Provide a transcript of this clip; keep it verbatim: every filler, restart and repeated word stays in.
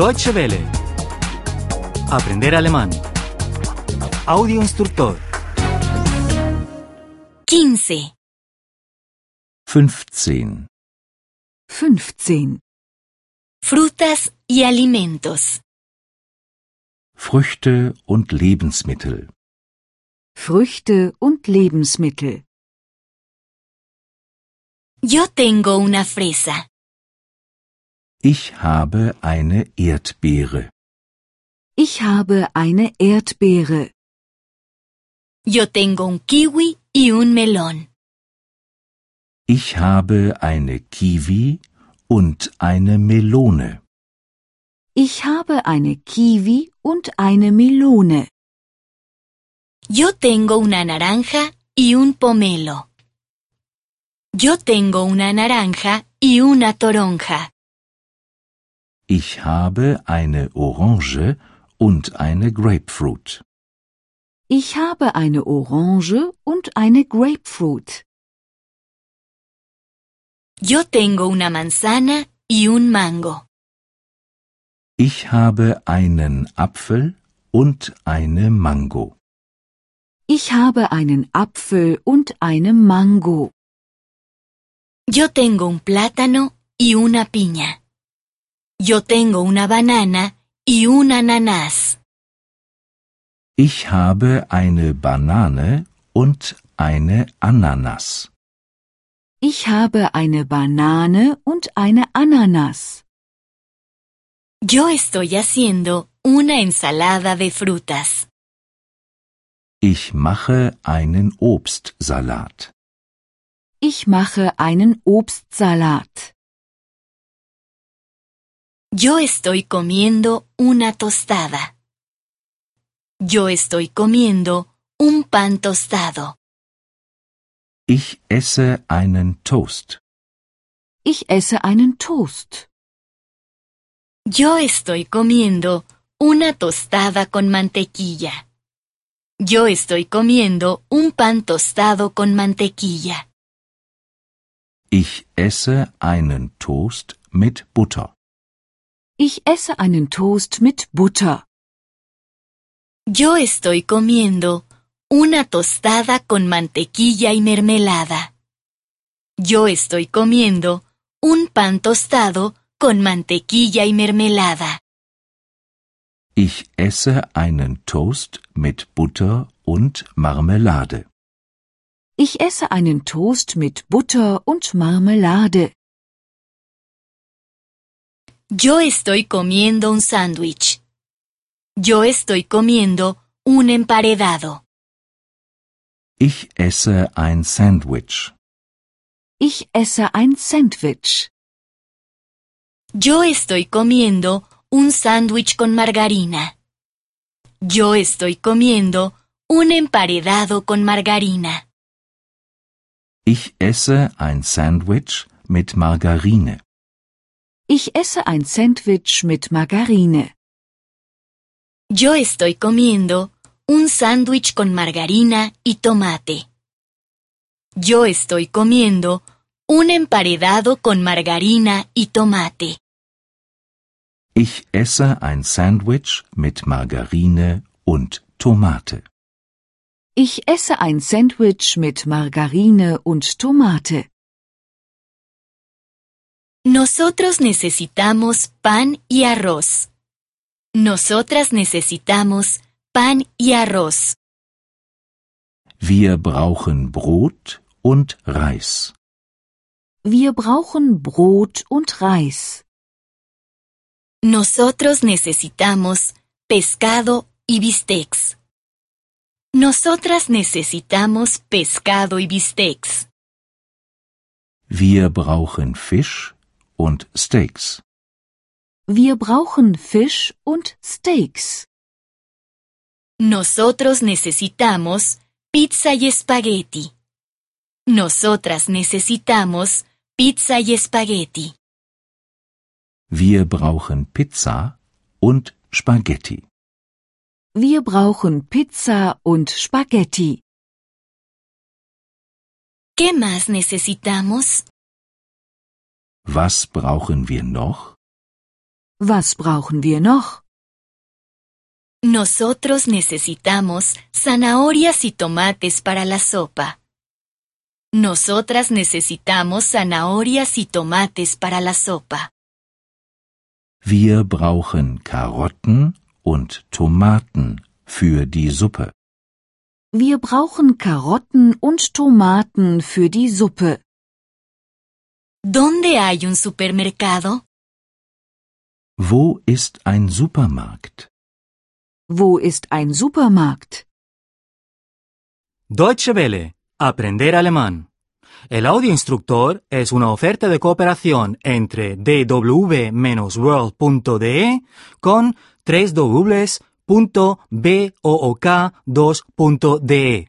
Deutsche Welle. Aprender alemán. Audio instructor. quince. fünfzehn. fünfzehn. Frutas y alimentos. Früchte und Lebensmittel. Früchte und Lebensmittel. Yo tengo una fresa. Ich habe eine Erdbeere. Ich habe eine Erdbeere. Yo tengo un kiwi y un melón. Ich habe eine Kiwi und eine Melone. Ich habe eine Kiwi und eine Melone. Yo tengo una naranja y un pomelo. Yo tengo una naranja y una toronja. Ich habe eine Orange und eine Grapefruit. Ich habe eine Orange und eine Grapefruit. Yo tengo una manzana y un mango. Ich habe einen Apfel und eine Mango. Ich habe einen Apfel und eine Mango. Yo tengo un plátano y una piña. Yo tengo una banana y un ananas. Ich habe eine Banane und eine Ananas. Ich habe eine Banane und eine Ananas. Yo estoy haciendo una ensalada de frutas. Ich mache einen Obstsalat. Ich mache einen Obstsalat. Yo estoy comiendo una tostada. Yo estoy comiendo un pan tostado. Ich esse einen Toast. Ich esse einen Toast. Yo estoy comiendo una tostada con mantequilla. Yo estoy comiendo un pan tostado con mantequilla. Ich esse einen Toast mit Butter. Ich esse einen Toast mit Butter. Yo estoy comiendo una tostada con mantequilla y mermelada. Yo estoy comiendo un pan tostado con mantequilla y mermelada. Ich esse einen Toast mit Butter und Marmelade. Ich esse einen Toast mit Butter und Marmelade. Yo estoy comiendo un sándwich. Yo estoy comiendo un emparedado. Ich esse ein Sandwich. Ich esse ein Sandwich. Yo estoy comiendo un sándwich con margarina. Yo estoy comiendo un emparedado con margarina. Ich esse ein Sandwich mit Margarine. Ich esse ein Sandwich mit Margarine. Yo estoy comiendo un sándwich con margarina y tomate. Yo estoy comiendo un emparedado con margarina y tomate. Ich esse ein Sandwich mit Margarine und Tomate. Ich esse ein Sandwich mit Margarine und Tomate. Nosotros necesitamos pan y arroz. Nosotras necesitamos pan y arroz. Wir brauchen Brot und Reis. Wir brauchen Brot und Reis. Nosotros necesitamos pescado y bistecs. Nosotras necesitamos pescado y bistecs. Wir brauchen Fisch und Steaks. Wir brauchen Fisch und Steaks. Nosotros necesitamos pizza y espagueti. Nosotras necesitamos pizza y espagueti. Wir brauchen Pizza und Spaghetti. Wir brauchen Pizza und Spaghetti. ¿Qué más necesitamos? Was brauchen wir noch? Was brauchen wir noch? Nosotros necesitamos zanahorias y tomates para la sopa. Nosotras necesitamos zanahorias y tomates para la sopa. Wir brauchen Karotten und Tomaten für die Suppe. Wir brauchen Karotten und Tomaten für die Suppe. ¿Dónde hay un supermercado? Wo ist ein Supermarkt? Wo ist ein Supermarkt? Deutsche Welle. Aprender alemán. El audioinstructor es una oferta de cooperación entre d w world punto d e con w w w punto book dos punto d e.